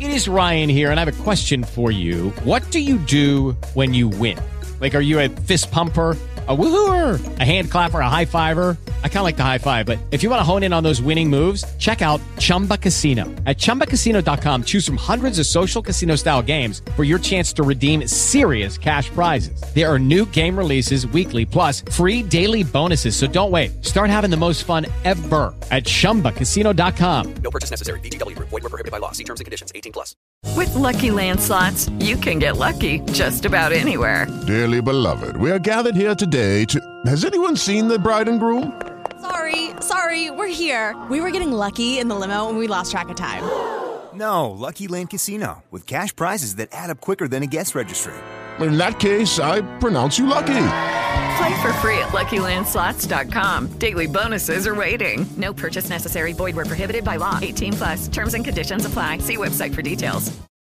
It is Ryan here, and I have a question for you. What do you do when you win? Like, are you a fist pumper, a woohooer, a hand clapper, a high fiver? I kind of like the high five, but if you want to hone in on those winning moves, check out Chumba Casino. At ChumbaCasino.com, choose from hundreds of social casino-style games for your chance to redeem serious cash prizes. There are new game releases weekly, plus free daily bonuses. So don't wait. Start having the most fun ever at ChumbaCasino.com. No purchase necessary. VGW Group. Void where prohibited by law. See terms and conditions. 18+. With Lucky Land Slots, you can get lucky just about anywhere. Dearly beloved, we are gathered here today to... Has anyone seen the bride and groom? Sorry, we're here. We were getting lucky in the limo and we lost track of time. No, Lucky Land Casino, with cash prizes that add up quicker than a guest registry. In that case, I pronounce you lucky. Play for free at LuckyLandSlots.com. Daily bonuses are waiting. No purchase necessary. Void where prohibited by law. 18+. Terms and conditions apply. See website for details.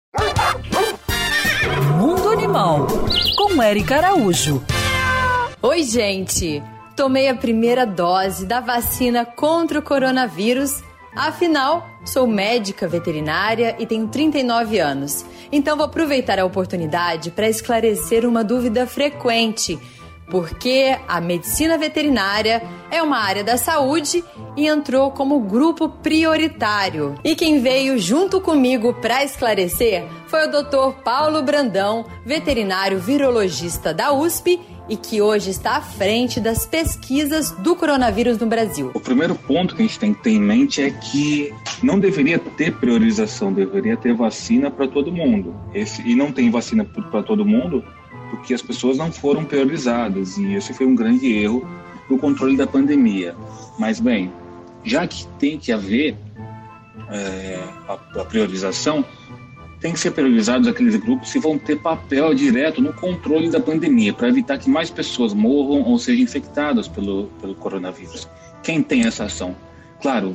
Mundo Animal, com Érica Araújo. Oi, gente! Tomei a primeira dose da vacina contra o coronavírus. Afinal, sou médica veterinária e tenho 39 anos. Então vou aproveitar a oportunidade para esclarecer uma dúvida frequente. Porque a medicina veterinária é uma área da saúde e entrou como grupo prioritário. E quem veio junto comigo para esclarecer foi o Dr. Paulo Brandão, veterinário virologista da USP e que hoje está à frente das pesquisas do coronavírus no Brasil. O primeiro ponto que a gente tem que ter em mente é que não deveria ter priorização, deveria ter vacina para todo mundo. E não tem vacina para todo mundo porque as pessoas não foram priorizadas, e esse foi um grande erro no controle da pandemia. Mas, bem, já que tem que haver a priorização, tem que ser priorizados aqueles grupos que vão ter papel direto no controle da pandemia, para evitar que mais pessoas morram ou sejam infectadas pelo coronavírus. Quem tem essa ação? Claro,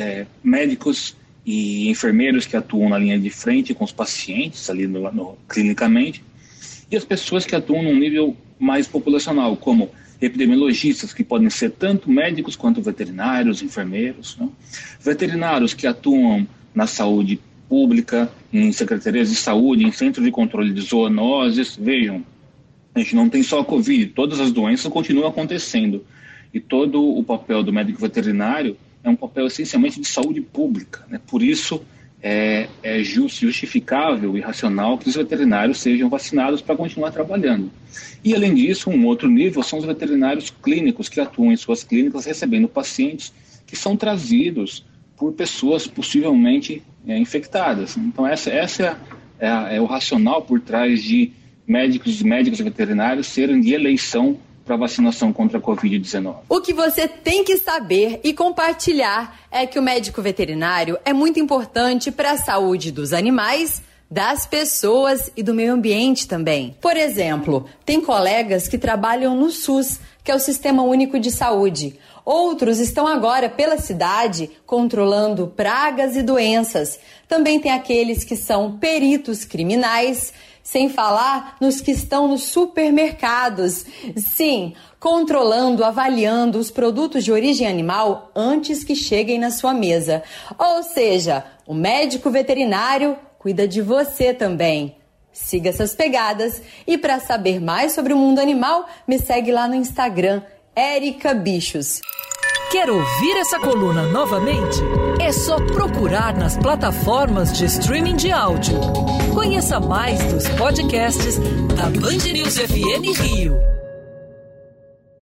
médicos e enfermeiros que atuam na linha de frente com os pacientes, ali clinicamente, e as pessoas que atuam num nível mais populacional, como epidemiologistas, que podem ser tanto médicos quanto veterinários, enfermeiros, né? Veterinários que atuam na saúde pública, em secretarias de saúde, em centros de controle de zoonoses. Vejam, a gente não tem só a Covid, todas as doenças continuam acontecendo. E todo o papel do médico veterinário é um papel essencialmente de saúde pública, né? Por isso, é justificável e racional que os veterinários sejam vacinados para continuar trabalhando. E, além disso, um outro nível são os veterinários clínicos que atuam em suas clínicas recebendo pacientes que são trazidos por pessoas possivelmente infectadas. Então, essa é o racional por trás de médicos e veterinários serem de eleição para vacinação contra a Covid-19. O que você tem que saber e compartilhar é que o médico veterinário é muito importante para a saúde dos animais, das pessoas e do meio ambiente também. Por exemplo, tem colegas que trabalham no SUS, que é o Sistema Único de Saúde. Outros estão agora pela cidade controlando pragas e doenças. Também tem aqueles que são peritos criminais, sem falar nos que estão nos supermercados. Sim, controlando, avaliando os produtos de origem animal antes que cheguem na sua mesa. Ou seja, o médico veterinário cuida de você também. Siga essas pegadas e para saber mais sobre o mundo animal, me segue lá no Instagram, Érica Bichos. Quer ouvir essa coluna novamente? É só procurar nas plataformas de streaming de áudio. Conheça mais dos podcasts da Band News FM Rio.